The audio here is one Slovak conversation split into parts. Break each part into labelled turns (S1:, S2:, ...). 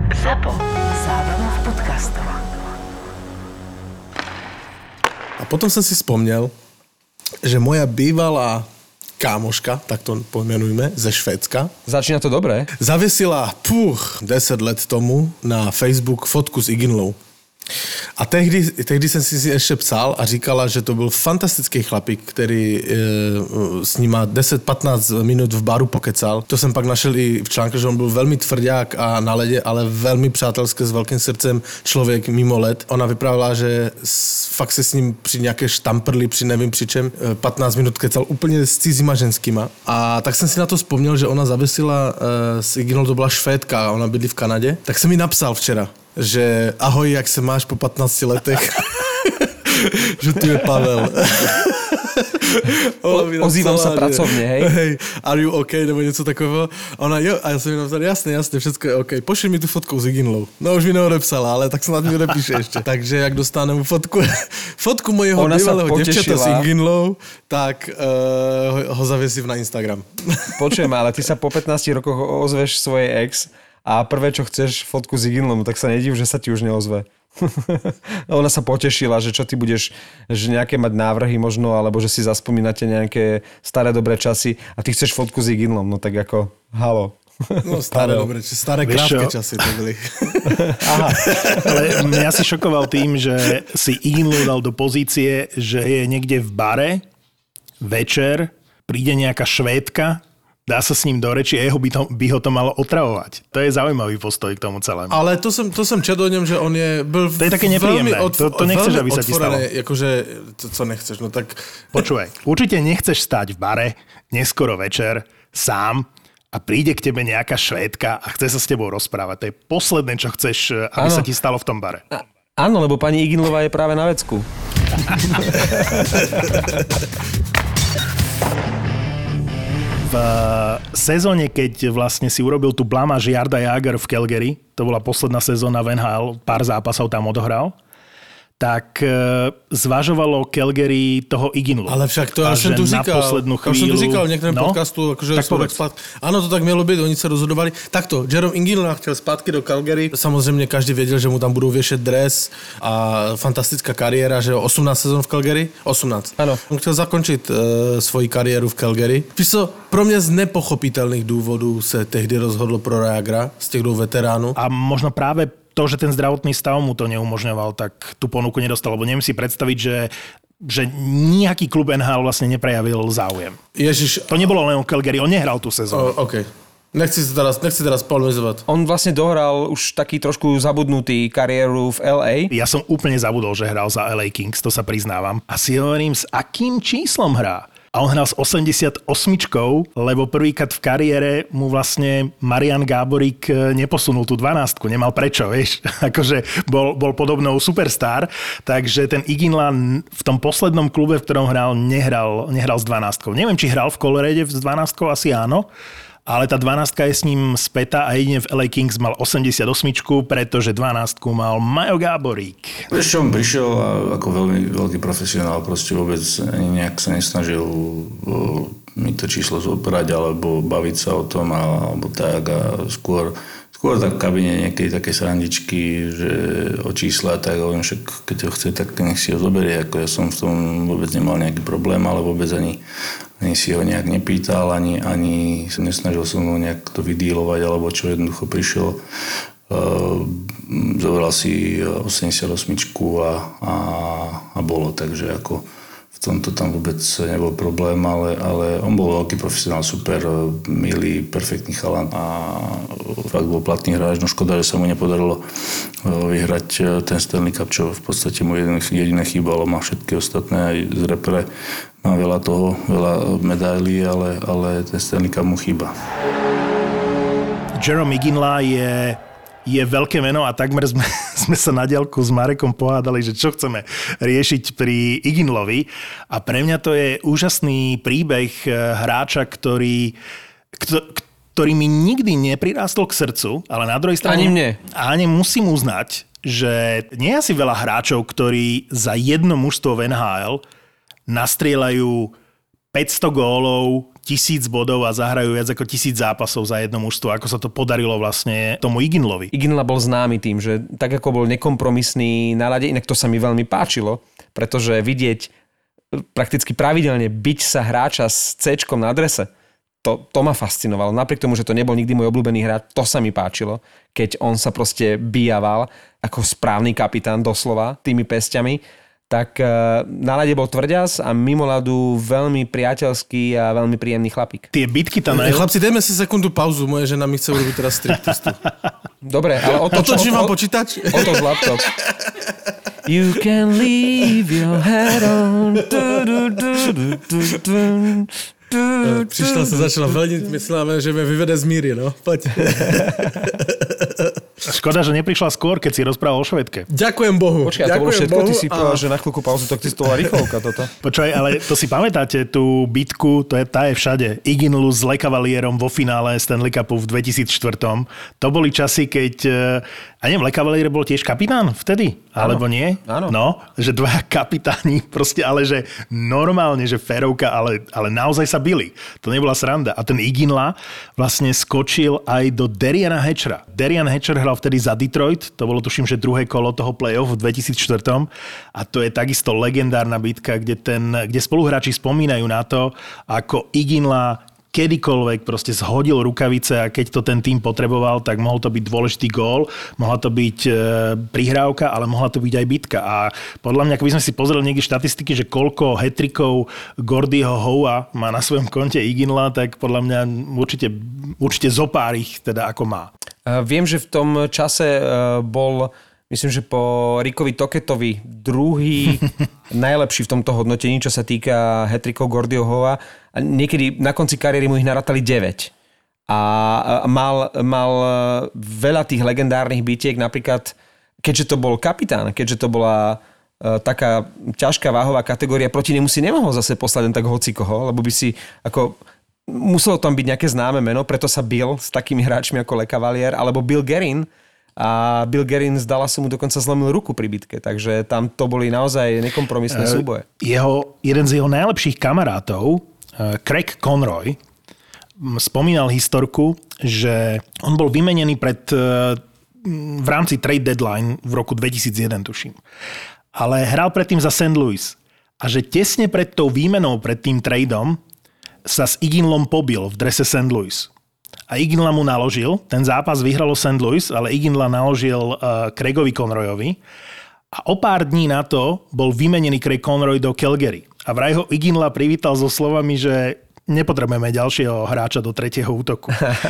S1: ZAPO. Zábrná v podcastov.
S2: A potom som si spomnel, že moja bývalá kámoška, tak to pomenujme, ze Švédska.
S3: Začína to dobre.
S2: Zavesila 10 let tomu na Facebook fotku s Iginlou. A tehdy jsem si ještě psal a říkala, že to byl fantastický chlapík, který s nima 10-15 minut v baru pokecal. To jsem pak našel i v článku, že on byl velmi tvrdák a na ledě, ale velmi přátelský, s velkým srdcem člověk mimo led. Ona vyprávěla, že fakt se s ním při nějaké štamprli, při nevím při čem, 15 minut kecal úplně s cizíma ženskýma. A tak jsem si na to vzpomněl, že ona zavesila s Iginou, to byla Švédka a ona bydlí v Kanadě. Tak jsem mi napsal včera, že ahoj, jak se máš po 15 letech? Že tu je Pavel.
S3: Ozývam sa pracovne, hej?
S2: Hej, are you okay, nebo něco takového. A ona, jo, a já jsem mi napsal, jasně, všechno je okay. Pošli mi tu fotku s Iginlou. No už mi neodepsala, ale tak snad mi odepíše ještě. Takže jak dostaneme fotku mojeho bývalého děvčata s Iginlou, tak ho zavěsím na Instagram.
S3: Počujem, ale ty sa po 15 rokoch ozveš svojej ex a prvé, čo chceš, fotku s Iginlom, tak sa nediv, že sa ti už neozve. Ona sa potešila, že čo ty budeš, že nejaké mať návrhy možno, alebo že si zaspomínate nejaké staré dobré časy a ty chceš fotku s Iginlom, no tak ako, halo.
S2: No staré dobré, staré krátke časy to byli.
S4: Aha, ale mňa si šokoval tým, že si Iginlu dal do pozície, že je niekde v bare, večer, príde nejaká Švédka, dá sa s ním do reči, jeho by ho to malo otravovať. To je zaujímavý postoj k tomu celému.
S2: Ale to jsem četl o něm, že on byl
S4: to je také nepríjemné. To nechceš, aby sa ti stalo.
S2: Jakože, to, co nechceš, no tak...
S4: Počúvaj, určite nechceš stáť v bare, neskoro večer, sám a príde k tebe nejaká Švédka a chce sa s tebou rozprávať. To je posledné, čo chceš, aby sa ti stalo v tom bare.
S3: Áno, lebo pani Iginlová je práve na vecku.
S4: V sezóne, keď vlastne si urobil tú blamáž Jarda Jágr v Calgary, to bola posledná sezóna v NHL, pár zápasov tam odohral, tak zvažovalo Calgary toho Iginlu.
S2: Ale však to já jsem tu říkal. Já jsem tu říkal v některém podcastu, jakože ano, to tak mělo být, oni se rozhodovali. Takto, Jaromír Iginla chtěl zpátky do Calgary. Samozřejmě každý věděl, že mu tam budou věšet dres a fantastická kariéra, že 18 sezon v Calgary? 18.
S3: Ano.
S2: On chtěl zakončit svoji kariéru v Calgary. Víš co, pro mě z nepochopitelných důvodů se tehdy rozhodlo pro Jágra, z těch dvou veteránů.
S4: A možno práve to, že ten zdravotný stav mu to neumožňoval, tak tú ponuku nedostal, lebo neviem si predstaviť, že nejaký klub NHL vlastne neprejavil záujem.
S2: Ježiš.
S4: To nebolo len o Calgary, on nehral tú sezónu.
S2: OK. Nechci teraz polemizovať.
S3: On vlastne dohral už taký trošku zabudnutý kariéru v LA.
S4: Ja som úplne zabudol, že hral za LA Kings, to sa priznávam. A si hovorím, s akým číslom hrá? A on hral s 88, lebo prvýkrát v kariére mu vlastne Marian Gáborík neposunul tú 12, nemal prečo, vieš. Akože bol podobnou superstar, takže ten Iginla v tom poslednom klube, v ktorom hral, nehral s 12. Neviem, či hral v Colorade s 12, asi áno, ale tá 12 je s ním spätá a jedine v LA Kings mal 88, pretože 12 mal Majo Gáborík.
S5: Vieš čo, on prišiel ako veľmi veľký profesionál, proste vôbec ani nejak sa nesnažil mi to číslo zobrať alebo baviť sa o tom alebo tak a skôr tak v kabine niekedy také srandičky, že o čísla, tak hovorím, však keď ho chce, tak nech si ho zoberie. Ako ja som v tom vôbec nemal nejaký problém, ale vôbec ani si ho nejak nepýtal, ani sa nesnažil som ho nejak to vydílovať, alebo čo, jednoducho prišiel, zobral si 88 a bolo, takže ako v tomto tam vôbec nebol problém, ale on bol veľký profesionál, super, milý, perfektný chalan a fakt bol platný hráč. No škoda, že sa mu nepodarilo vyhrať ten Stanley Cup, čo v podstate mu jediné chýbalo. Má všetky ostatné, aj z repre má veľa medailí, ale ten Stanley Cup mu chýba.
S4: Jaromír Iginla je veľké meno a takmer sme sa na diaľku s Marekom pohádali, že čo chceme riešiť pri Iginlovi. A pre mňa to je úžasný príbeh hráča, ktorý mi nikdy neprirástol k srdcu, ale na druhej strane...
S3: Ani mne.
S4: Ani musím uznať, že nie je asi veľa hráčov, ktorí za jedno mužstvo v NHL nastrieľajú 500 gólov, 1000 bodov a zahrajú viac ako 1000 zápasov za jedno mužstvo. Ako sa to podarilo vlastne tomu Iginlovi.
S3: Iginla bol známy tým, že tak ako bol nekompromisný na ľade, inak to sa mi veľmi páčilo, pretože vidieť prakticky pravidelne biť sa hráča s C-čkom na drese, to ma fascinovalo. Napriek tomu, že to nebol nikdy môj obľúbený hráč, to sa mi páčilo, keď on sa proste bijaval ako správny kapitán doslova tými pesťami. Tak na ľade bol tvrďas a mimo ľadu veľmi priateľský a veľmi príjemný chlapík.
S4: Tie bitky tam...
S2: Chlapci, dajme si sekundu pauzu. Moje žena mi chce urobiť teraz striptistu.
S3: Dobre, ale
S2: otočím vám počítač.
S3: Otoč laptop. You can leave your head on.
S2: Prišla sa, začala veľniť, myslela, že me vyvede z míry, no. Poď.
S4: Škoda, že neprišla skôr, keď si rozprával o Švédke.
S2: Ďakujem Bohu.
S3: Počkaj, to bolo všetko, ty si povedal, že na chvíľku pauzu, tak ty to bola rýchlovka toto.
S4: Počkaj, ale to si pamätáte, tú bitku, tá je všade. Iginlu s Le Cavalierom vo finále Stanley Cupu v 2004. To boli časy, keď... A neviem, Le Cavalier bol tiež kapitán vtedy? Alebo nie?
S3: Áno.
S4: No, že dvaja kapitáni proste, ale že normálne, že férovka, ale naozaj sa bili. To nebola sranda. A ten Iginla vlastne skočil aj do Deriana Hatchera. Derian Hatcher hral vtedy za Detroit, to bolo tuším, že druhé kolo toho play-off v 2004. A to je takisto legendárna bitka, kde spoluhráči spomínajú na to, ako Iginla kedykoľvek proste zhodil rukavice a keď to ten tým potreboval, tak mohol to byť dôležitý gól, mohla to byť prihrávka, ale mohla to byť aj bitka. A podľa mňa, keby sme si pozreli niekde štatistiky, že koľko hat-trickov Gordyho Howa má na svojom konte Iginla, tak podľa mňa určite zopár ich teda ako má.
S3: Viem, že v tom čase bol, myslím, že po Rickovi Toketovi druhý najlepší v tomto hodnotení, čo sa týka hat-trickov Gordyho Howa. A niekedy na konci kariéry mu ich narátali 9. A mal veľa tých legendárnych bitiek, napríklad, keďže to bol kapitán, keďže to bola taká ťažká váhová kategória, proti nemu si nemohol zase poslať len tak hocikoho, lebo by si ako... Muselo tam byť nejaké známe meno, preto sa bil s takými hráčmi ako Le Cavalier, alebo Bill Guerin. A Bill Guerin z Dallasu mu dokonca zlomil ruku pri bitke, takže tam to boli naozaj nekompromisné súboje.
S4: Jeden z jeho najlepších kamarátov, Craig Conroy, spomínal historku, že on bol vymenený v rámci trade deadline v roku 2001, tuším. Ale hral predtým za St. Louis. A že tesne pred tou výmenou, pred tým tradeom, sa s Iginlom pobil v drese St. Louis. A Iginla mu naložil, ten zápas vyhralo St. Louis, ale Iginla naložil Craigovi Conroyovi. A o pár dní na to bol vymenený Craig Conroy do Calgary. A vraj ho Iginla privítal so slovami, že nepotrebujeme ďalšieho hráča do tretieho útoku.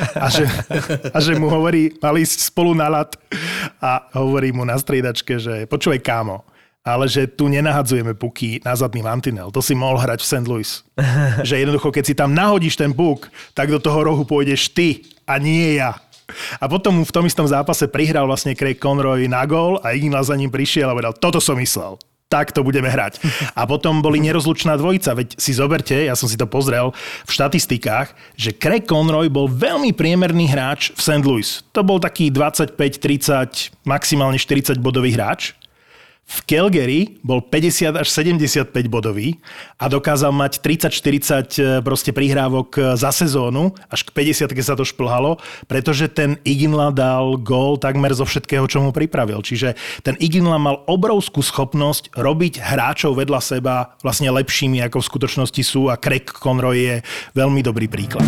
S4: A že mu hovorí, mali ísť spolu na ľad a hovorí mu na striedačke, že počúvaj kámo, ale že tu nenahadzujeme puky na zadný mantinel. To si mohol hrať v St. Louis. Že jednoducho, keď si tam nahodíš ten puk, tak do toho rohu pôjdeš ty a nie ja. A potom v tom istom zápase prihral vlastne Craig Conroy na gól a Iginla za ním prišiel a povedal, toto som myslel. Tak to budeme hrať. A potom boli nerozlučná dvojica, veď si zoberte, ja som si to pozrel v štatistikách, že Craig Conroy bol veľmi priemerný hráč v St. Louis. To bol taký 25, 30, maximálne 40 bodový hráč. V Calgary bol 50 až 75 bodový a dokázal mať 30-40 proste prihrávok za sezónu, až k 50 sa to šplhalo, pretože ten Iginla dal gól takmer zo všetkého, čo mu pripravil. Čiže ten Iginla mal obrovskú schopnosť robiť hráčov vedľa seba vlastne lepšími, ako v skutočnosti sú a Craig Conroy je veľmi dobrý príklad.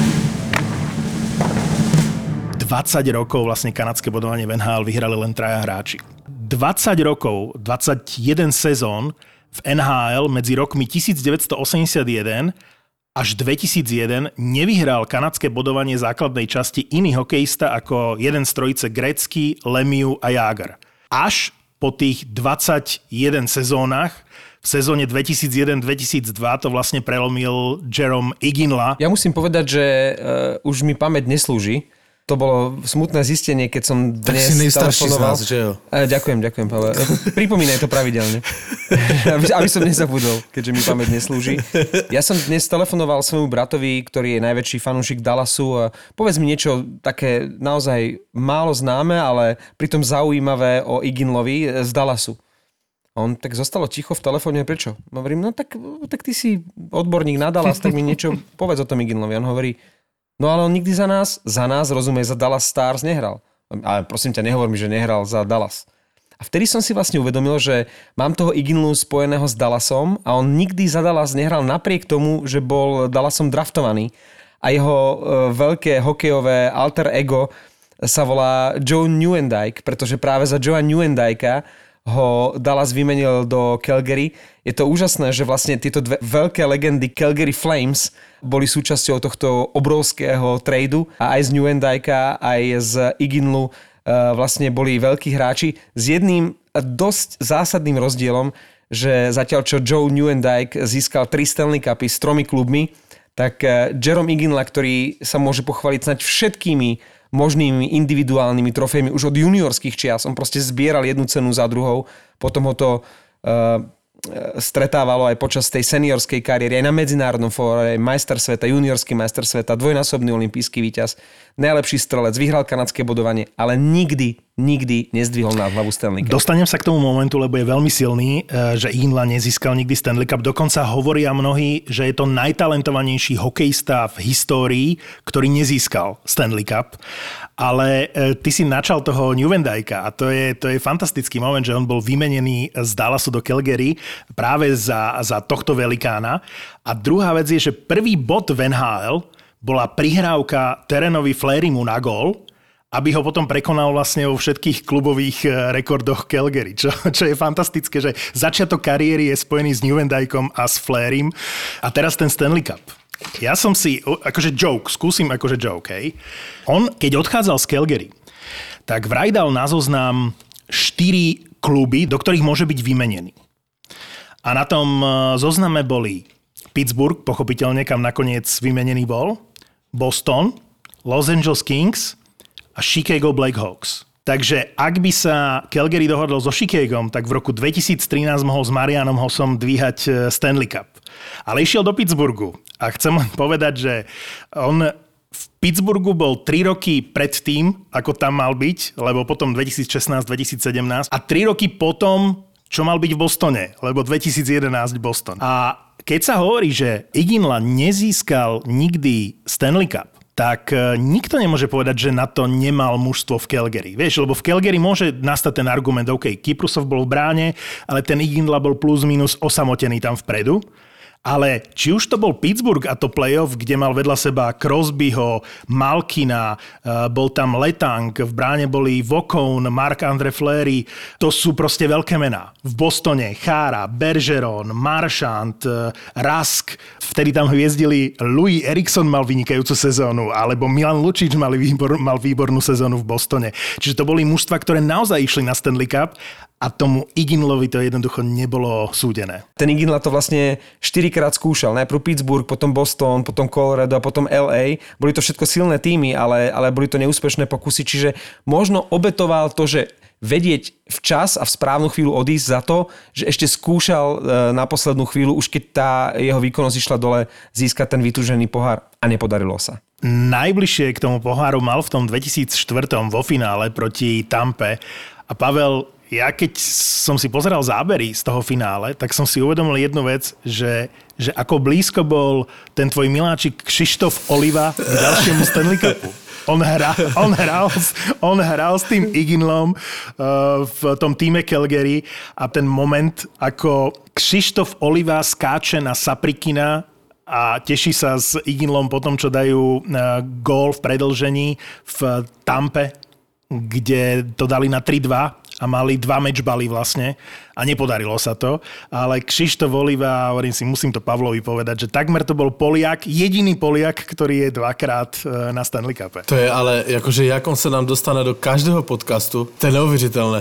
S4: 20 rokov vlastne kanadské bodovanie v NHL vyhrali len 3 hráči. 20 rokov, 21 sezón v NHL medzi rokmi 1981 až 2001 nevyhral kanadské bodovanie základnej časti iný hokejista ako jeden z trojice Gretzky, Lemieux a Jágr. Až po tých 21 sezónach v sezóne 2001-2002 to vlastne prelomil Jarome Iginla.
S3: Ja musím povedať, že už mi pamäť neslúži. To bolo smutné zistenie, keď som dnes
S2: tak si najstarší z nás, že jo?
S3: Ďakujem, Pavel. Pripomínaj to pravidelne, aby som nezabudol, keďže mi pamäť neslúži. Ja som dnes telefonoval svojmu bratovi, ktorý je najväčší fanúšik Dallasu. Povedz mi niečo také naozaj málo známe, ale pritom zaujímavé o Iginlovi z Dallasu. A on tak zostalo ticho v telefóne, prečo? Hovorím, no tak ty si odborník na Dallas, tak mi niečo povedz o tom Iginlovi. On hovorí, no ale on nikdy za nás, rozumie, za Dallas Stars nehral. Ale prosím ťa, nehovor mi, že nehral za Dallas. A vtedy som si vlastne uvedomil, že mám toho Iginlu spojeného s Dallasom a on nikdy za Dallas nehral napriek tomu, že bol Dallasom draftovaný. A jeho veľké hokejové alter ego sa volá Joe Nieuwendyk, pretože práve za Joea Nieuwendyka ho Dallas vymenil do Calgary. Je to úžasné, že vlastne tieto dve veľké legendy Calgary Flames boli súčasťou tohto obrovského tradu a aj z Nieuwendyka, aj z Iginlu vlastne boli veľkí hráči s jedným dosť zásadným rozdielom, že zatiaľ čo Joe Nieuwendyk získal 3 Stanley Cupy s 3 klubmi, tak Jarome Iginla, ktorý sa môže pochváliť snáď všetkými možnými individuálnymi trofejmi už od juniorských čias. On proste zbieral jednu cenu za druhou. Potom ho to stretávalo aj počas tej seniorskej kariéry, aj na medzinárodnom fóre, majster sveta, juniorský majster sveta, dvojnásobný olympijský víťaz, najlepší strelec, vyhral kanadské bodovanie, ale nikdy nezdvihol na hlavu Stanley Cup.
S4: Dostanem sa k tomu momentu, lebo je veľmi silný, že Iginla nezískal nikdy Stanley Cup. Dokonca hovoria mnohí, že je to najtalentovanejší hokejista v histórii, ktorý nezískal Stanley Cup. Ale ty si načal toho Nieuwendyka a to je fantastický moment, že on bol vymenený z Dallasu do Calgary práve za tohto velikána. A druhá vec je, že prvý bod v NHL bola prihrávka Terenovi Fleurymu na gól, aby ho potom prekonal vlastne vo všetkých klubových rekordoch Calgary, čo je fantastické, že začiatok kariéry je spojený s Nieuwendykom a s Fleurym a teraz ten Stanley Cup. Ja som si, skúsim joke, hej. On, keď odchádzal z Calgary, tak vraj dal na zoznam 4 kluby, do ktorých môže byť vymenený. A na tom zozname boli Pittsburgh, pochopiteľne, kam nakoniec vymenený bol, Boston, Los Angeles Kings a Chicago Blackhawks. Takže ak by sa Calgary dohodol so Chicagom, tak v roku 2013 mohol s Marianom Hossom dvíhať Stanley Cup. Ale išiel do Pittsburghu. A chcem len povedať, že on v Pittsburghu bol 3 roky pred tým, ako tam mal byť, lebo potom 2016-2017 a 3 roky potom, čo mal byť v Bostone, lebo 2011 Boston. A keď sa hovorí, že Iginla nezískal nikdy Stanley Cup, tak nikto nemôže povedať, že na to nemal mužstvo v Calgary. Vieš, lebo v Calgary môže nastať ten argument, OK, Kyprusov bol v bráne, ale ten Iginla bol plus minus osamotený tam vpredu. Ale či už to bol Pittsburgh a to playoff, kde mal vedľa seba Crosbyho, Malkina, bol tam Letang, v bráne boli Vaughn, Marc-André Fleury, to sú proste veľké mená. V Bostone Chara, Bergeron, Marchand, Rask, vtedy tam hviezdili Louis Eriksson mal vynikajúcu sezónu, alebo Milan Lucic mal výbornú sezónu v Bostone. Čiže to boli mužstva, ktoré naozaj išli na Stanley Cup a tomu Iginlovi to jednoducho nebolo súdené.
S3: Ten Iginla to vlastne 4-krát skúšal. Najprv Pittsburgh, potom Boston, potom Colorado a potom LA. Boli to všetko silné týmy, ale boli to neúspešné pokusy. Čiže možno obetoval to, že vedieť včas a v správnu chvíľu odísť za to, že ešte skúšal na poslednú chvíľu, už keď tá jeho výkonnosť išla dole, získať ten vytúžený pohár a nepodarilo sa.
S4: Najbližšie k tomu poháru mal v tom 2004 vo finále proti Tampe a Pavel, ja keď som si pozeral zábery z toho finále, tak som si uvedomil jednu vec, že ako blízko bol ten tvoj miláčik Kšištof Oliva k ďalšiemu Stanley Cupu. On hral s tým Iginlom v tom týme Calgary a ten moment, ako Kšištof Oliva skáče na Saprikina a teší sa s Iginlom po tom, čo dajú gól v predĺžení v Tampe, kde to dali na 3-2 a mali 2 matchbaly vlastne a nepodarilo sa to. Ale Kšištof Oliva, hovorím si, musím to Pavlovi povedať, že takmer to bol Poliak, jediný Poliak, ktorý je 2-krát na Stanley Cupe.
S2: To je ale, jakože jak on se nám dostane do každého podcastu, to je neuvěřitelné.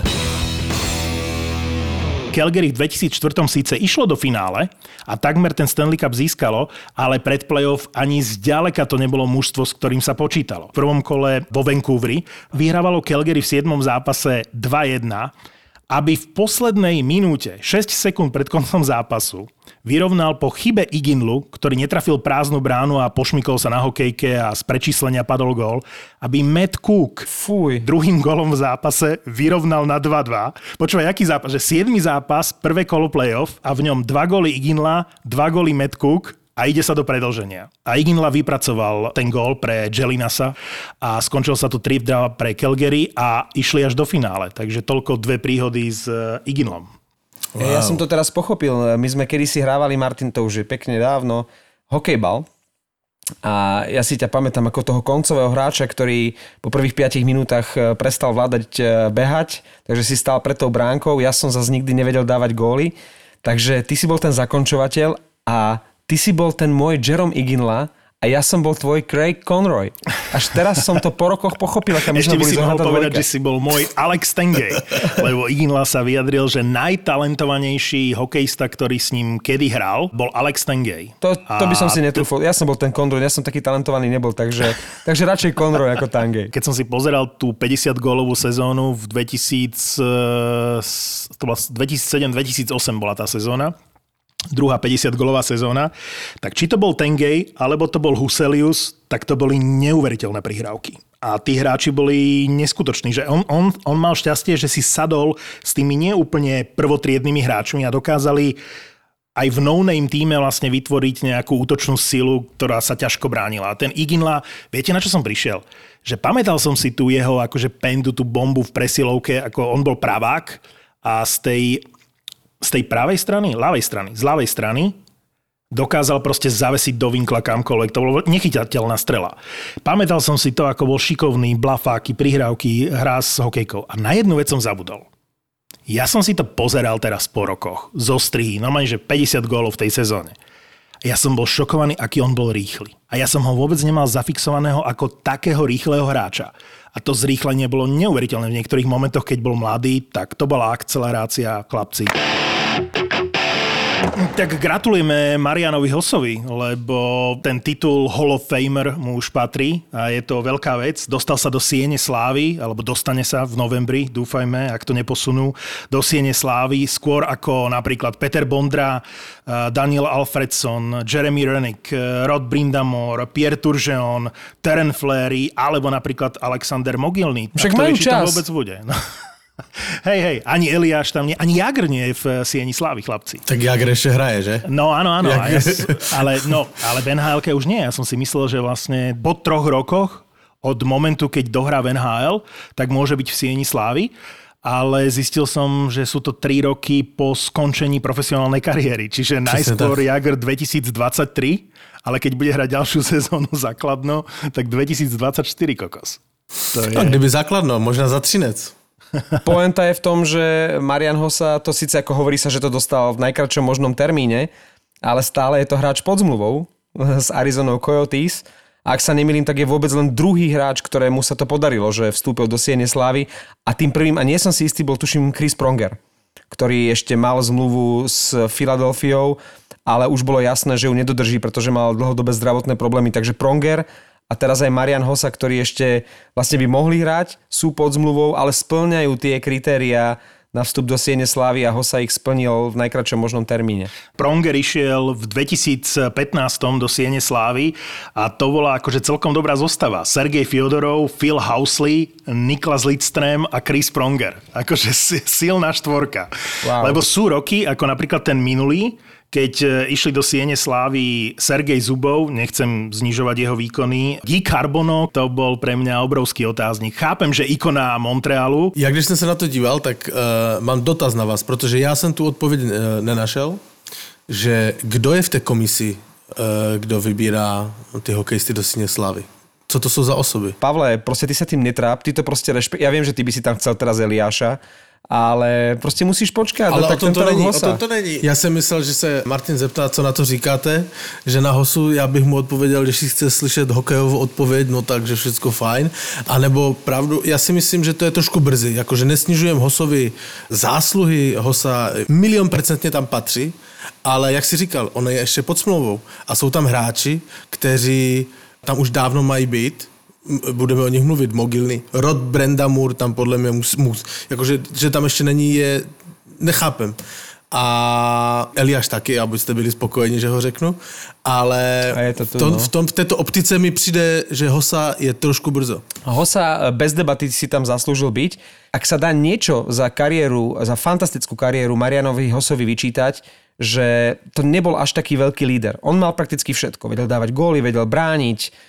S4: Calgary v 2004 síce išlo do finále a takmer ten Stanley Cup získalo, ale pred playoff ani zďaleka to nebolo mužstvo, s ktorým sa počítalo. V prvom kole vo Vancouveri vyhrávalo Calgary v 7. zápase 2-1 aby v poslednej minúte, 6 sekúnd pred koncom zápasu, vyrovnal po chybe Iginlu, ktorý netrafil prázdnu bránu a pošmykol sa na hokejke a z prečíslenia padol gól, aby Matt Cook druhým gólom v zápase vyrovnal na 2-2. Počúvaj, aký zápas? Že 7. zápas, prvé kolo playoff a v ňom 2 góly Iginla, 2 góly Matt Cook a ide sa do predĺženia. A Iginla vypracoval ten gól pre Jelinasa a skončil sa tu 3-2 pre Calgary a išli až do finále. Takže toľko 2 príhody s Iginlom.
S3: Wow. Ja som to teraz pochopil. My sme kedysi hrávali, Martin, to už je pekne dávno, hokejbal. A ja si ťa pamätám ako toho koncového hráča, ktorý po prvých 5 minútach prestal vládať behať, takže si stál pred tou bránkou. Ja som zase nikdy nevedel dávať góly. Takže ty si bol ten zakončovateľ a ty si bol ten môj Jarome Iginla a ja som bol tvoj Craig Conroy. Až teraz som to po rokoch pochopil, aká my
S4: ešte
S3: sme
S4: by
S3: boli
S4: si mohol povedať,
S3: dvojka.
S4: že si bol môj Alex Tengay, lebo Iginla sa vyjadril, že najtalentovanejší hokejista, ktorý s ním kedy hral, bol Alex Tengay.
S3: To by som si netrúfol. Ja som bol ten Conroy, ja som taký talentovaný nebol, takže radšej Conroy ako Tengay.
S4: Keď som si pozeral tú 50-gólovú sezónu v 2007-2008 bola tá sezóna, druhá 50-gólová sezóna, tak či to bol Tengay, alebo to bol Huselius, tak to boli neuveriteľné prihrávky. A tí hráči boli neskutoční, že on mal šťastie, že si sadol s tými neúplne prvotriednymi hráčmi a dokázali aj v no-name týme vlastne vytvoriť nejakú útočnú silu, ktorá sa ťažko bránila. A ten Iginla, viete, na čo som prišiel? Že pamätal som si tu jeho akože pendu, tú bombu v presilovke, ako on bol pravák a z tej pravej strany, z ľavej strany dokázal proste zavesiť do vinkla kamkoľvek. To bolo nechytateľná strela. Pamätal som si to, ako bol šikovný, blafáky, prihrávky, hrá s hokejkou. A na jednu vec som zabudol. Ja som si to pozeral teraz po rokoch. Zo strihy, normálne, že 50 gólov v tej sezóne. Ja som bol šokovaný, aký on bol rýchly. A ja som ho vôbec nemal zafixovaného ako takého rýchleho hráča. A to zrýchlenie bolo neuveriteľné. V niektorých momentoch, keď bol mladý, tak to bola akcelerácia, chlapci. Tak gratulujeme Marianovi Hossovi, lebo ten titul Hall of Famer mu už patrí a je to veľká vec. Dostal sa do Siene slávy, alebo dostane sa v novembri, dúfajme, ak to neposunú, do Siene slávy, skôr ako napríklad Peter Bondra, Daniel Alfredson, Jeremy Roenick, Rod Brindamore, Pierre Turgeon, Terence Fleury, alebo napríklad Alexander Mogilny.
S3: Však majú čas.
S4: To vôbec bude. No. Hej, ani Eliáš tam nie, ani Jagr nie je v Sieni slávy, chlapci.
S2: Tak Jagr ešte hraje, že?
S4: No áno, ale v NHL-ke už nie. Ja som si myslel, že vlastne po 3 rokoch od momentu, keď dohrá v NHL, tak môže byť v Sieni slávy. Ale zistil som, že sú to 3 roky po skončení profesionálnej kariéry. Čiže najskôr Jagr 2023, ale keď bude hrať ďalšiu sezónu základno, tak 2024 kokos. To je...
S2: A kdyby základno, možná za Třinec.
S3: Poenta je v tom, že Marian Hossa, to síce ako hovorí sa, že to dostal v najkratšom možnom termíne, ale stále je to hráč pod zmluvou s Arizonou Coyotes. A ak sa nemýlim, tak je vôbec len druhý hráč, ktorému sa to podarilo, že vstúpil do Siene slávy. A tým prvým, a nie som si istý, bol tuším Chris Pronger, ktorý ešte mal zmluvu s Filadelfiou, ale už bolo jasné, že ju nedodrží, pretože mal dlhodobé zdravotné problémy. Takže Pronger a teraz aj Marian Hossa, ktorí ešte vlastne by mohli hrať, sú pod zmluvou, ale spĺňajú tie kritériá na vstup do Siene slávy a Hossa ich splnil v najkratšom možnom termíne.
S4: Pronger išiel v 2015 do Siene slávy a to bola akože celkom dobrá zostava. Sergej Fyodorov, Phil Housley, Niklas Lidström a Chris Pronger. Akože silná štvorka. Wow. Lebo sú roky, ako napríklad ten minulý, keď išli do Siene slávy Sergej Zubov, nechcem znižovať jeho výkony. Guy Carbonneau, to bol pre mňa obrovský otáznik. Chápem, že ikona Montrealu.
S2: Ja když jsem se na to díval, tak mám dotaz na vás, protože já jsem tu odpověď nenašel, že kdo je v té komisi, kdo vybírá ty hokejisty do Siene slávy. Co to jsou za osoby?
S3: Pavle, proste ty sa tým netráp, ty to proste Ja viem, že ty by si tam chcel teraz Eliáša, ale prostě musíš počkat.
S2: Ale
S3: no, tak
S2: o tom to není. Já jsem myslel, že se Martin zeptá, co na to říkáte, že na Hossu já bych mu odpověděl, když si chce slyšet hokejovou odpověď, no takže všecko fajn. A nebo pravdu, já si myslím, že to je trošku brzy, jakože nesnižujem Hossovi zásluhy, Hossa 100% tam patří, ale jak si říkal, on je ještě pod smlouvou a jsou tam hráči, kteří tam už dávno mají být, budeme o nich mluvit, Mogilny. Rod Brandamur tam podle mě jakože, že tam ještě není, je, nechápem. A Eliáš taky, abyste byli spokojeni, že ho řeknu. Ale v této optice mi přijde, že Hossa je trošku brzo.
S3: Hossa bez debaty si tam zaslúžil byť. Ak sa dá niečo za kariéru, za fantastickú kariéru Marianovi Hossovi vyčítať, že to nebol až taký veľký líder. On mal prakticky všetko. Vedel dávať góly, vedel brániť,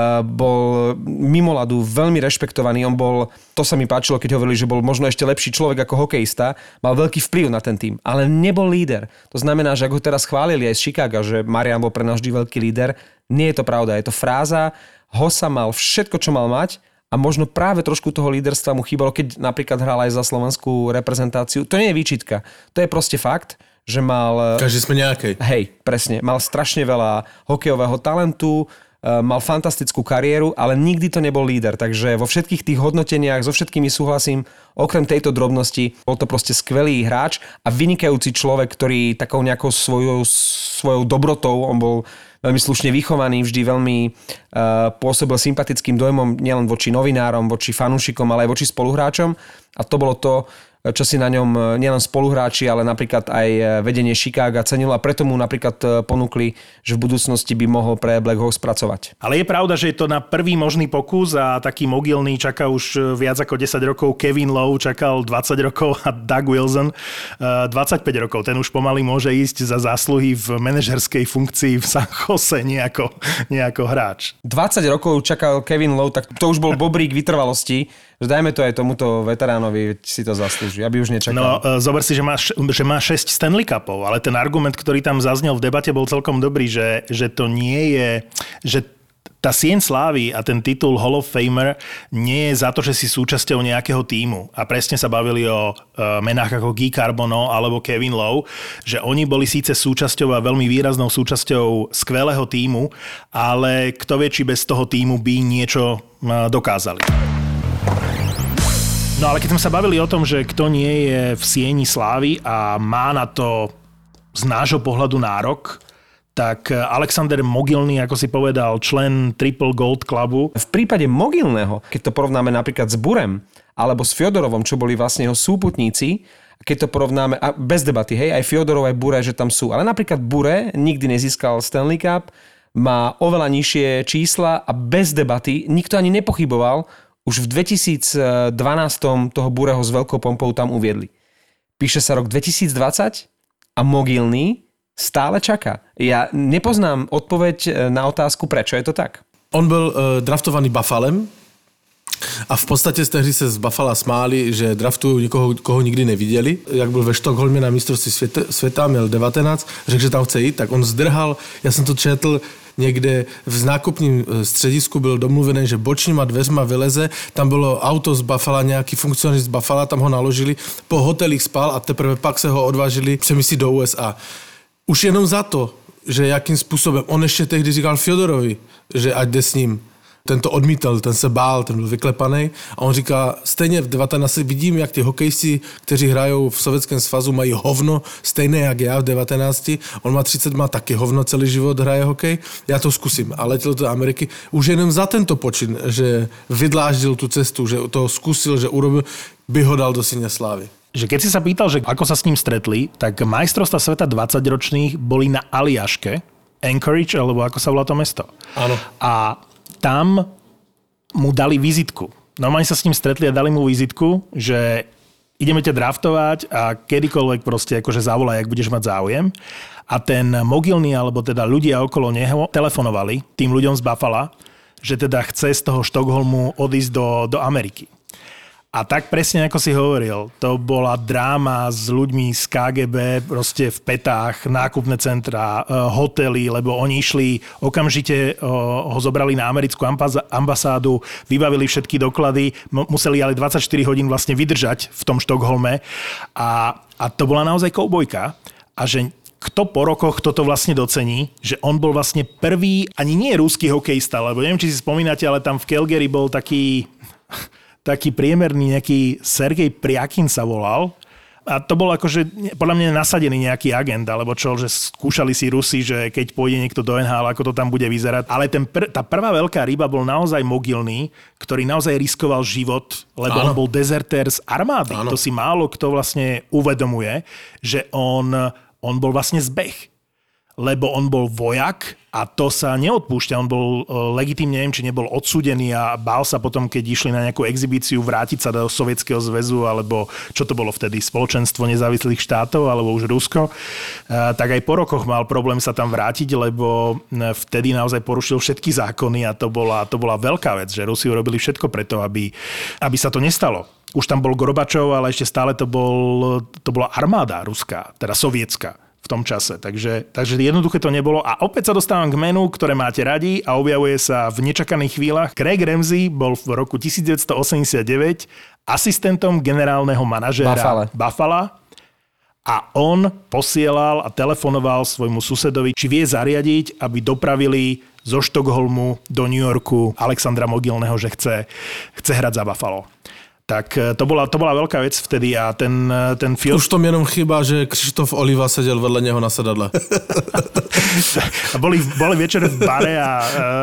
S3: bol mimo ľadu veľmi rešpektovaný. On bol, to sa mi páčilo, keď hovorili, že bol možno ešte lepší človek ako hokejista. Mal veľký vplyv na ten tým, ale nebol líder. To znamená, že ak ho teraz chválili aj z Chicaga, že Marian bol pre nás vždy veľký líder, nie je to pravda. Je to fráza. Hossa mal všetko, čo mal mať a možno práve trošku toho líderstva mu chýbalo, keď napríklad hral aj za slovenskú reprezentáciu. To nie je výčitka. To je proste fakt, že mal...
S2: Každý sme nejakej.
S3: Hej, presne. Mal strašne veľa hokejového talentu, mal fantastickú kariéru, ale nikdy to nebol líder. Takže vo všetkých tých hodnoteniach so všetkými súhlasím, okrem tejto drobnosti, bol to proste skvelý hráč a vynikajúci človek, ktorý takou nejakou svojou dobrotou, on bol veľmi slušne vychovaný, vždy veľmi pôsobil sympatickým dojmom nielen voči novinárom, voči fanúšikom, ale aj voči spoluhráčom. A to bolo to, čo si na ňom nielen spoluhráči, ale napríklad aj vedenie Chicaga cenilo a preto mu napríklad ponúkli, že v budúcnosti by mohol pre Black Hawks pracovať.
S4: Ale je pravda, že je to na prvý možný pokus a taký Mogilny čaká už viac ako 10 rokov, Kevin Lowe čakal 20 rokov a Doug Wilson 25 rokov. Ten už pomaly môže ísť za zásluhy v manažerskej funkcii v San Jose, nejako hráč.
S3: 20 rokov čakal Kevin Lowe, tak to už bol bobrík vytrvalosti. Dajme to aj tomuto veteránovi, si to zaslúži, aby už nečakal.
S4: No, zober si, že má 6 Stanley Cupov, ale ten argument, ktorý tam zaznel v debate, bol celkom dobrý, že to nie je, že tá sieň slávy a ten titul Hall of Famer nie je za to, že si súčasťou nejakého tímu. A presne sa bavili o menách ako Guy Carbonneau alebo Kevin Lowe, že oni boli síce súčasťou a veľmi výraznou súčasťou skvelého tímu, ale kto vie, či bez toho tímu by niečo dokázali. No ale keď sme sa bavili o tom, že kto nie je v sieni slávy a má na to z nášho pohľadu nárok, tak Alexander Mogilny, ako si povedal, člen Triple Gold Clubu.
S3: V prípade Mogilného, keď to porovnáme napríklad s Burem alebo s Fjodorovom, čo boli vlastne jeho súputníci, keď to porovnáme, a bez debaty, hej, aj Fjodorov, aj Bure, že tam sú. Ale napríklad Bure nikdy nezískal Stanley Cup, má oveľa nižšie čísla a bez debaty nikto ani nepochyboval. Už v 2012 toho Bureho s veľkou pompou tam uviedli. Píše sa rok 2020 a Mogilny stále čaká. Ja nepoznám odpoveď na otázku, prečo je to tak.
S2: On byl draftovaný Buffalem a v podstatě z té hry se z Buffala smáli, že draftují někoho, koho nikdy neviděli. Jak byl ve Štokholmě na mistrovství světa, měl 19, řekl, že tam chce jít, tak on zdrhal, já jsem to četl, někde v nákupním středisku byl domluvený, že bočníma dveřma vyleze, tam bylo auto z Buffala, nějaký funkcionář z Buffala, tam ho naložili, po hotelích spal a teprve pak se ho odvážili přemístit do USA. Už jenom za to, že jakým způsobem, on ještě tehdy říkal Fjodorovi, že ať jde s ním. Ten to odmítal, ten se bál, ten byl vyklepaný a on říká, stejně v 19 vidím, jak ty hokejci, kteří hrajou v Sovětském svazu, mají hovno, stejné jak já v 19, on má 30, má taky hovno, celý život hraje hokej, já to zkusím a letěl do Ameriky. Už jenom za tento počin, že vydláždil tu cestu, že to zkusil, že urobil, by ho dal do síně slávy.
S4: Že keď si sa pýtal, že ako sa s ním stretli, tak majstrovstvá sveta 20-ročných boli na Aliaške, Anchorage, alebo ako sa volá to mesto.
S2: Áno.
S4: A tam mu dali vizitku. Normálne sa s ním stretli a dali mu vizitku, že ideme ťa draftovať a kedykoľvek proste akože zavolaj, ak budeš mať záujem. A ten Mogilny, alebo teda ľudia okolo neho telefonovali tým ľuďom z Buffala, že teda chce z toho Štokholmu odísť do Ameriky. A tak presne ako si hovoril, to bola dráma s ľuďmi z KGB, proste v petách, nákupné centrá, hotely, lebo oni išli, okamžite ho zobrali na americkú ambasádu, vybavili všetky doklady, museli ale 24 hodín vlastne vydržať v tom Štokholme a to bola naozaj koubojka a že kto po rokoch toto vlastne docení, že on bol vlastne prvý, ani nie ruský hokejista, lebo neviem, či si spomínate, ale tam v Calgary bol taký priemerný nejaký Sergej Priakin sa volal. A to bol akože podľa mňa nasadený nejaký agent, alebo čo, že skúšali si Rusi, že keď pôjde niekto do NHL, ako to tam bude vyzerať. Ale tá prvá veľká ryba bol naozaj Mogilný, ktorý naozaj riskoval život, lebo on bol dezertér z armády. To si málo kto vlastne uvedomuje, že on bol vlastne zbeh. Lebo on bol vojak a to sa neodpúšťa. On bol legitímne, neviem, či nebol odsúdený a bál sa potom, keď išli na nejakú exhibíciu, vrátiť sa do Sovietskeho zväzu, alebo čo to bolo vtedy, Spoločenstvo nezávislých štátov, alebo už Rusko. Tak aj po rokoch mal problém sa tam vrátiť, lebo vtedy naozaj porušil všetky zákony a to bola veľká vec, že Rusi urobili všetko preto, aby sa to nestalo. Už tam bol Gorbačov, ale ešte stále to bola armáda ruská, teda sovietská v tom čase. Takže jednoduché to nebolo. A opäť sa dostávam k menu, ktoré máte radi a objavuje sa v nečakaných chvíľach. Craig Ramsey bol v roku 1989 asistentom generálneho manažéra Buffalo a on posielal a telefonoval svojmu susedovi, či vie zariadiť, aby dopravili zo Štokholmu do New Yorku Alexandra Mogilného, že chce hrať za Buffalo. Tak to bola veľká vec vtedy a ten film...
S2: Už tom jenom chyba, že Křištof Oliva sedel vedle něho na sedadle.
S4: A boli večer v bare a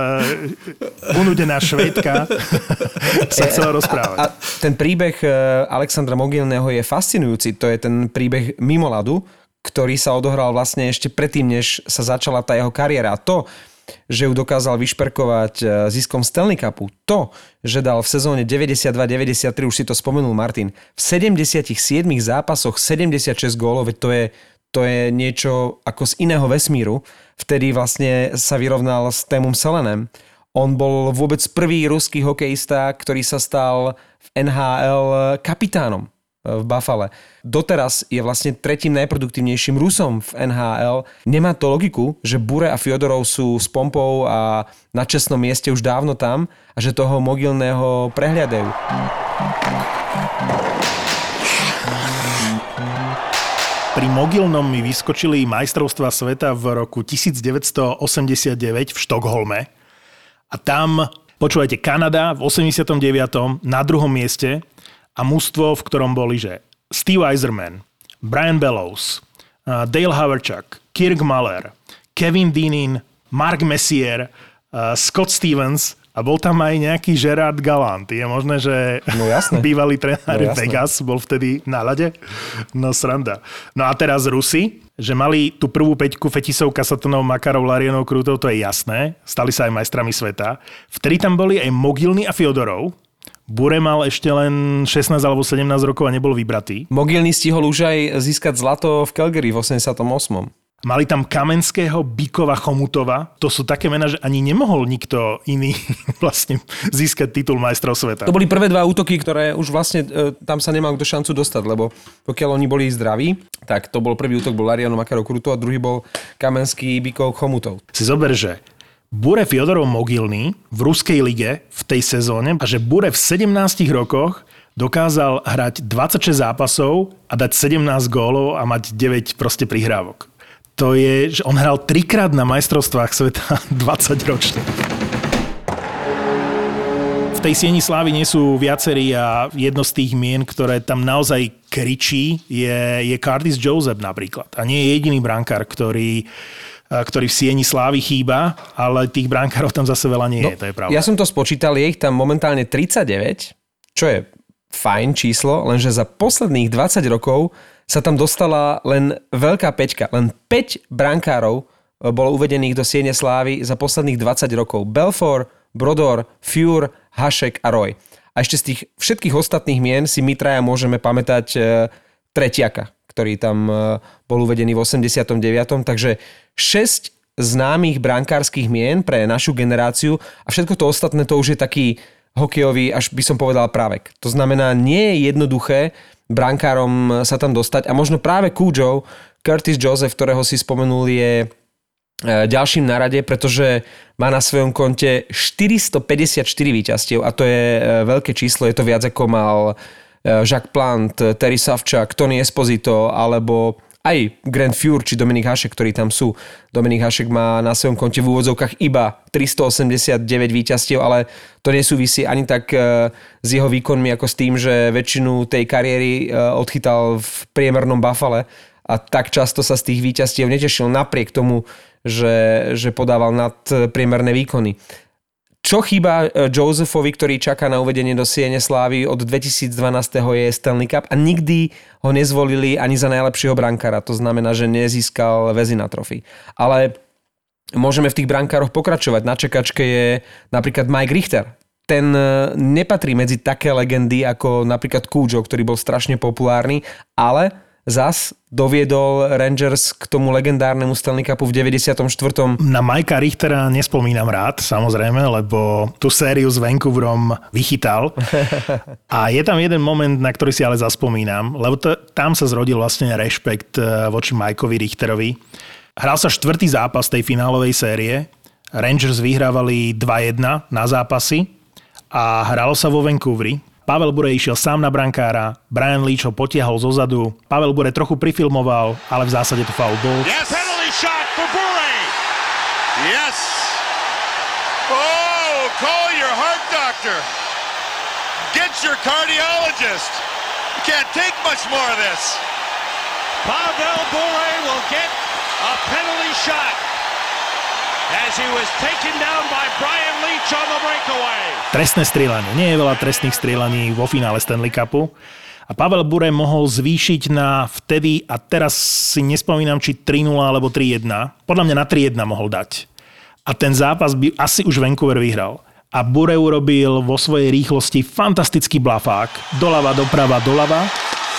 S4: unudená Švédka sa chcela rozprávať.
S3: A ten príbeh Alexandra Mogilného je fascinujúci. To je ten príbeh mimo ľadu, ktorý sa odohral vlastne ešte predtým, než sa začala tá jeho kariéra. A to, že ju dokázal vyšperkovať ziskom Stanley Cupu. To, že dal v sezóne 92-93, už si to spomenul Martin, v 77 zápasoch 76 gólov, veď to je niečo ako z iného vesmíru. Vtedy vlastne sa vyrovnal s Témom Selenem. On bol vôbec prvý ruský hokejista, ktorý sa stal v NHL kapitánom v Buffale. Doteraz je vlastne tretím najproduktívnejším Rusom v NHL. Nemá to logiku, že Bure a Fjodorov sú s pompou a na čestnom mieste už dávno tam a že toho Mogilného prehliadajú.
S4: Pri Mogilnom mi vyskočili majstrovstvá sveta v roku 1989 v Štokholme a tam, počúvajte, Kanada v 89. na druhom mieste a mužstvo, v ktorom boli, že Steve Yzerman, Brian Bellows, Dale Hawerchuk, Kirk Muller, Kevin Dineen, Mark Messier, Scott Stevens a bol tam aj nejaký Gerard Gallant. Je možné, že bývalý tréner Vegas bol vtedy na ľade? No sranda. No a teraz Rusi, že mali tú prvú peťku Fetisov, Kasatonov, Makarov, Larionov, Krutov, to je jasné. Stali sa aj majstrami sveta. Vtedy tam boli aj Mogilný a Fjodorov. Bure mal ešte len 16 alebo 17 rokov a nebol vybratý.
S3: Mogilný stihol už aj získať zlato v Calgary v 88.
S4: Mali tam Kamenského, Bíkova, Chomutova. To sú také mená, že ani nemohol nikto iný vlastne získať titul majstrov sveta.
S3: To boli prvé dva útoky, ktoré už vlastne tam sa nemal kto šancu dostať, lebo pokiaľ oni boli zdraví, tak to bol prvý útok, bol Lariano, Makarov, Krutov a druhý bol Kamenský, Bíkov, Chomutov.
S4: Si zober, že Bure, Fjodorov, Mogilný v ruskej lige v tej sezóne a že Bure v 17 rokoch dokázal hrať 26 zápasov a dať 17 gólov a mať 9 proste prihrávok. To je, že on hral 3-krát na majstrovstvách sveta 20 ročne. V tej sieni slávy nie sú viacerí a jedno z tých mien, ktoré tam naozaj kričí, je Curtis Joseph napríklad. A nie je jediný brankár, ktorý v sieni slávy chýba, ale tých brankárov tam zase veľa nie je, to je pravda.
S3: Ja som to spočítal, je ich tam momentálne 39, čo je fajn číslo, lenže za posledných 20 rokov sa tam dostala len veľká peťka. Len 5 brankárov bolo uvedených do siene slávy za posledných 20 rokov. Belfort, Brodor, Führ, Hašek a Roy. A ešte z tých všetkých ostatných mien si my traja môžeme pamätať Tretiaka, ktorý tam bol uvedený v 89. Takže 6 známych brankárskych mien pre našu generáciu a všetko to ostatné to už je taký hokejový, až by som povedal právek. To znamená, nie je jednoduché brankárom sa tam dostať a možno práve Kúďov, Curtis Joseph, ktorého si spomenul, je ďalším na rade, pretože má na svojom konte 454 víťazstiev a to je veľké číslo, je to viac ako mal Jacques Plante, Terry Savchuk, Tony Esposito alebo aj Grant Fuhr či Dominik Hašek, ktorí tam sú. Dominik Hašek má na svojom konte v úvodzovkách iba 389 víťazstiev, ale to nesúvisí ani tak s jeho výkonmi, ako s tým, že väčšinu tej kariéry odchytal v priemernom Buffale a tak často sa z tých víťazstiev netešil napriek tomu, že podával nadpriemerné výkony. Čo chýba Josephovi, ktorý čaká na uvedenie do Siene slávy od 2012. je Stanley Cup a nikdy ho nezvolili ani za najlepšieho brankára. To znamená, že nezískal Vezina trofy. Ale môžeme v tých brankároch pokračovať. Na čakačke je napríklad Mike Richter. Ten nepatrí medzi také legendy ako napríklad Cujo, ktorý bol strašne populárny, ale zas doviedol Rangers k tomu legendárnemu Stanley Cupu v 94.
S4: Na Mikea Richtera nespomínam rád, samozrejme, lebo tú sériu s Vancouverom vychytal. A je tam jeden moment, na ktorý si ale zaspomínam, lebo tam sa zrodil vlastne rešpekt voči Mikeovi Richterovi. Hral sa 4. zápas tej finálovej série. Rangers vyhrávali 2-1 na zápasy a hralo sa vo Vancouveri. Pavel Bure išiel sám na brankára, Brian Leetch ho potiahol zozadu, Pavel Bure trochu prifilmoval, ale v zásade to foul bol.
S6: Yes, penalty shot for Bure. Yes. Oh, call your heart doctor. Get your cardiologist. You can't take much more of this. Pavel Bure will get a penalty shot as he was taken down by Brian Leetch on the breakaway.
S4: Trestné strieľanie. Nie je veľa trestných strieľaní vo finále Stanley Cupu. A Pavel Bure mohol zvýšiť na vtedy, a teraz si nespomínam, či 3-0 alebo 3-1. Podľa mňa na 3-1 mohol dať. A ten zápas by asi už Vancouver vyhral. A Bure urobil vo svojej rýchlosti fantastický blafák. Doľava, doprava, doľava.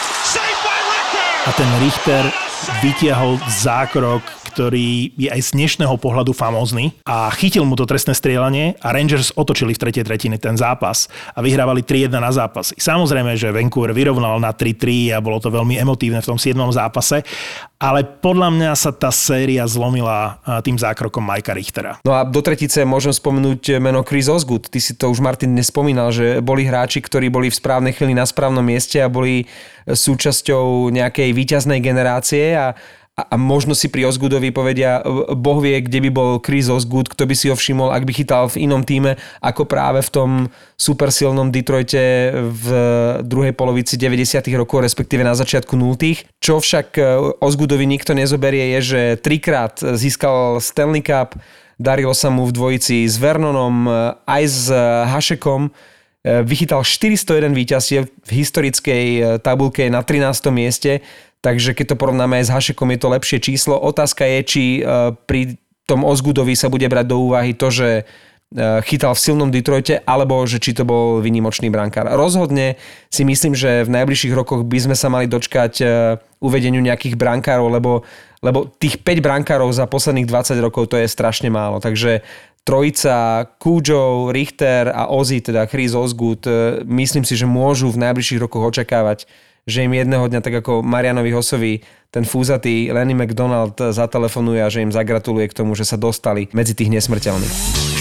S4: A ten Richter vytiahol zákrok, ktorý je aj z dnešného pohľadu famózny a chytil mu to trestné strieľanie a Rangers otočili v tretej tretine ten zápas a vyhrávali 3-1 na zápas. Samozrejme, že Vancouver vyrovnal na 3-3 a bolo to veľmi emotívne v tom 7. zápase, ale podľa mňa sa tá séria zlomila tým zákrokom Mikea Richtera.
S3: No a do tretice môžem spomenúť meno Chris Osgood. Ty si to už, Martin, nespomínal, že boli hráči, ktorí boli v správnej chvíli na správnom mieste a boli súčasťou nejakej víťaznej generácie a možno si pri Osgoodovi povedia, Boh vie, kde by bol Chris Osgood, kto by si ho všimol, ak by chytal v inom týme, ako práve v tom supersilnom Detroite v druhej polovici 90. rokov, respektíve na začiatku 0. Čo však Osgoodovi nikto nezoberie je, že 3-krát získal Stanley Cup, darilo sa mu v dvojici s Vernonom aj s Hašekom, vychytal 401 víťazstiev v historickej tabuľke na 13. mieste. Takže keď to porovnáme aj s Hašekom, je to lepšie číslo. Otázka je, či pri tom Osgoodovi sa bude brať do úvahy to, že chytal v silnom Detroite, alebo že či to bol výnimočný brankár. Rozhodne si myslím, že v najbližších rokoch by sme sa mali dočkať uvedeniu nejakých brankárov, lebo tých 5 brankárov za posledných 20 rokov to je strašne málo. Takže trojica Cujo, Richter a Ozzy, teda Chris Osgood, myslím si, že môžu v najbližších rokoch očakávať, že im jedného dňa, tak ako Marianovi Hossovi, ten fúzatý Lenny McDonald zatelefonuje a že im zagratuluje k tomu, že sa dostali medzi tých nesmrteľných.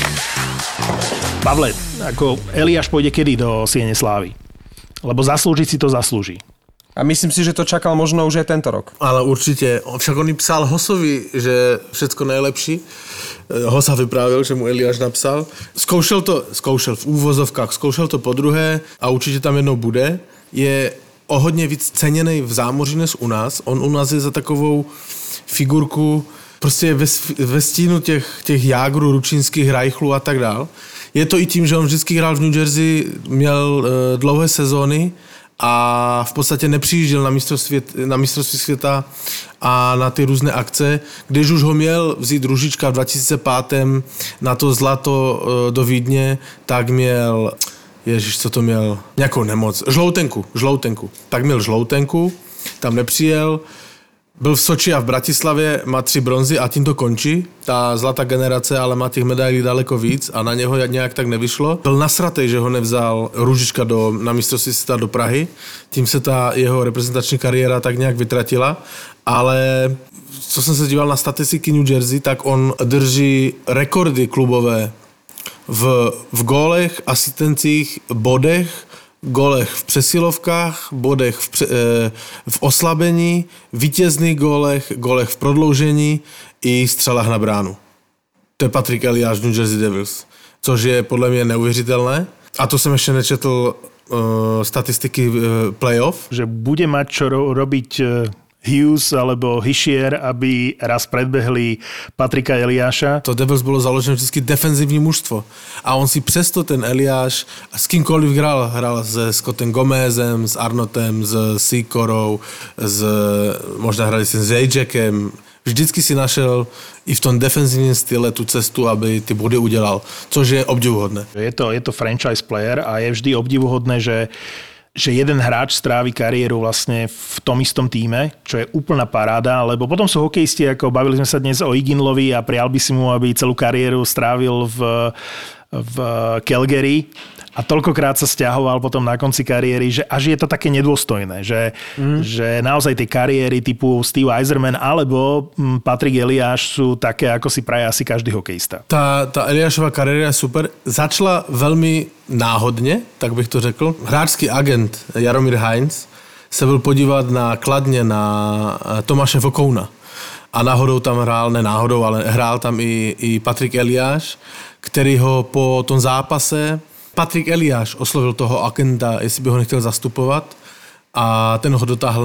S4: Pavle, ako Eliáš pôjde kedy do Siene slávy? Lebo zaslúžiť si to zaslúži.
S3: A myslím si, že to čakal možno už aj tento rok.
S2: Ale určitě. Však on psal Hossovi, že všecko nejlepší. Hossa vyprávěl, že mu Eliáš napsal. Zkoušel v úvozovkách, zkoušel to podruhé a určitě tam jednou bude. Je o hodně víc ceněnej v zámoří než u nás. On u nás je za takovou figurku prostě ve stínu těch Jágrů, Ručínských, Reichlů a tak dál. Je to i tím, že on vždycky hrál v New Jersey, měl dlouhé sezóny a v podstatě nepřijížděl na mistrovství světa a na ty různé akce. Když už ho měl vzít Ružička v 2005. na to zlato do Vídně, tak měl... Ježiš, co to měl? Nějakou nemoc. Žloutenku. Tak měl žloutenku, tam nepřijel. Byl v Soči a v Bratislavě, má 3 bronzy a tím to končí. Ta zlatá generace, ale má těch medailí daleko víc a na něho nějak tak nevyšlo. Byl nasratej, že ho nevzal Růžička na mistrovství světa do Prahy. Tím se ta jeho reprezentační kariéra tak nějak vytratila. Ale co jsem se díval na statistiky New Jersey, tak on drží rekordy klubové v gólech, asistencích, bodech, golech v přesilovkách, bodech v oslabení, vítězných golech v prodloužení i střelách na bránu. To je Patrick Eliáš, New Jersey Devils, což je podle mě neuvěřitelné. A to jsem ještě nečetl statistiky playoff.
S4: Že bude mať čo robiť Hughes alebo Hischier, aby raz predbehli Patrika Eliáša.
S2: To Devils bylo založeno vždycky defenzivní mužstvo. A on si přesto ten Eliáš s kýmkoliv hrál se Scottem Gomezem, s Arnotem, s Sikorou, možná hrali s Jackem. Vždycky si našel i v tom defenzívnym style tú cestu, aby ty body udělal, což je obdivuhodné.
S4: Je to franchise player a je vždy obdivuhodné, že jeden hráč strávi kariéru vlastne v tom istom týme, čo je úplná paráda, lebo potom sú hokejisti, ako bavili sme sa dnes o Iginlovi a prial by si mu, aby celú kariéru strávil v Calgary a toľkokrát sa sťahoval potom na konci kariéry, že až je to také nedôstojné, že naozaj tie kariéry typu Steve Yzerman alebo Patrick Eliáš sú také, ako si praje asi každý hokejista.
S2: Ta Eliášova kariéra je super. Začala velmi náhodně, tak bych to řekl. Hráčský agent Jaromír Heinz se byl podívat na Kladně na Tomáše Vokouna. A náhodou tam hrál, ne náhodou, ale hrál tam i Patrick Eliáš, který ho po tom zápase Patrick Eliáš oslovil toho agenta, jestli by ho nechtěl zastupovat a ten ho dotáhl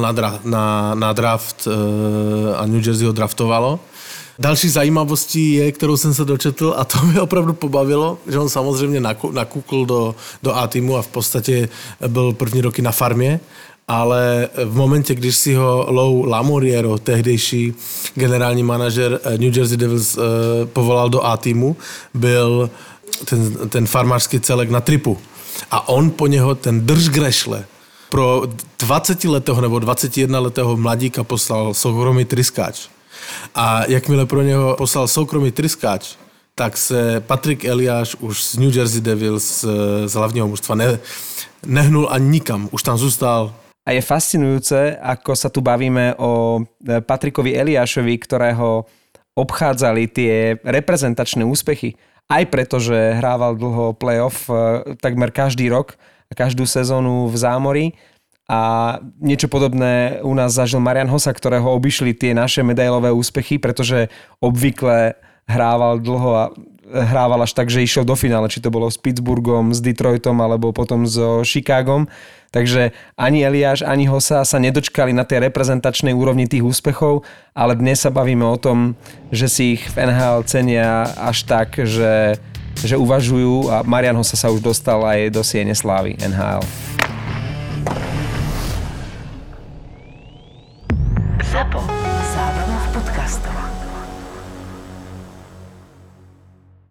S2: na draft a New Jersey ho draftovalo. Další zajímavostí je, kterou jsem se dočetl a to mě opravdu pobavilo, že on samozřejmě nakukl do A-týmu a v podstatě byl první roky na farmě, ale v momentě, když si ho Lou Lamoriero, tehdejší generální manažer New Jersey Devils, povolal do A-týmu, byl ten farmářský celek na tripu. A on po něho ten držgrešle pro 20letého nebo 21letého mladíka poslal soukromý tryskáč. A jakmile pro něho poslal soukromý tryskáč, tak se Patrick Eliáš už z New Jersey Devils z hlavního mužstva nehnul ani nikam. Už tam zůstal.
S3: A je fascinujúce, ako sa tu bavíme o Patrickovi Eliášovi, ktorého obchádzali tie reprezentačné úspechy. Aj preto, že hrával dlho playoff takmer každý rok, každú sezónu v zámori. A niečo podobné u nás zažil Marian Hossa, ktorého obišli tie naše medailové úspechy, pretože obvykle hrával dlho a hrával až tak, že išiel do finále, či to bolo s Pittsburghom, s Detroitom alebo potom so Chicagom. Takže ani Eliáš, ani Hossa sa nedočkali na tej reprezentačnej úrovni tých úspechov, ale dnes sa bavíme o tom, že si ich v NHL cenia až tak, že uvažujú a Marian Hossa sa už dostal aj do siene slávy NHL.
S1: ZAPO. Zábrná v podcastov.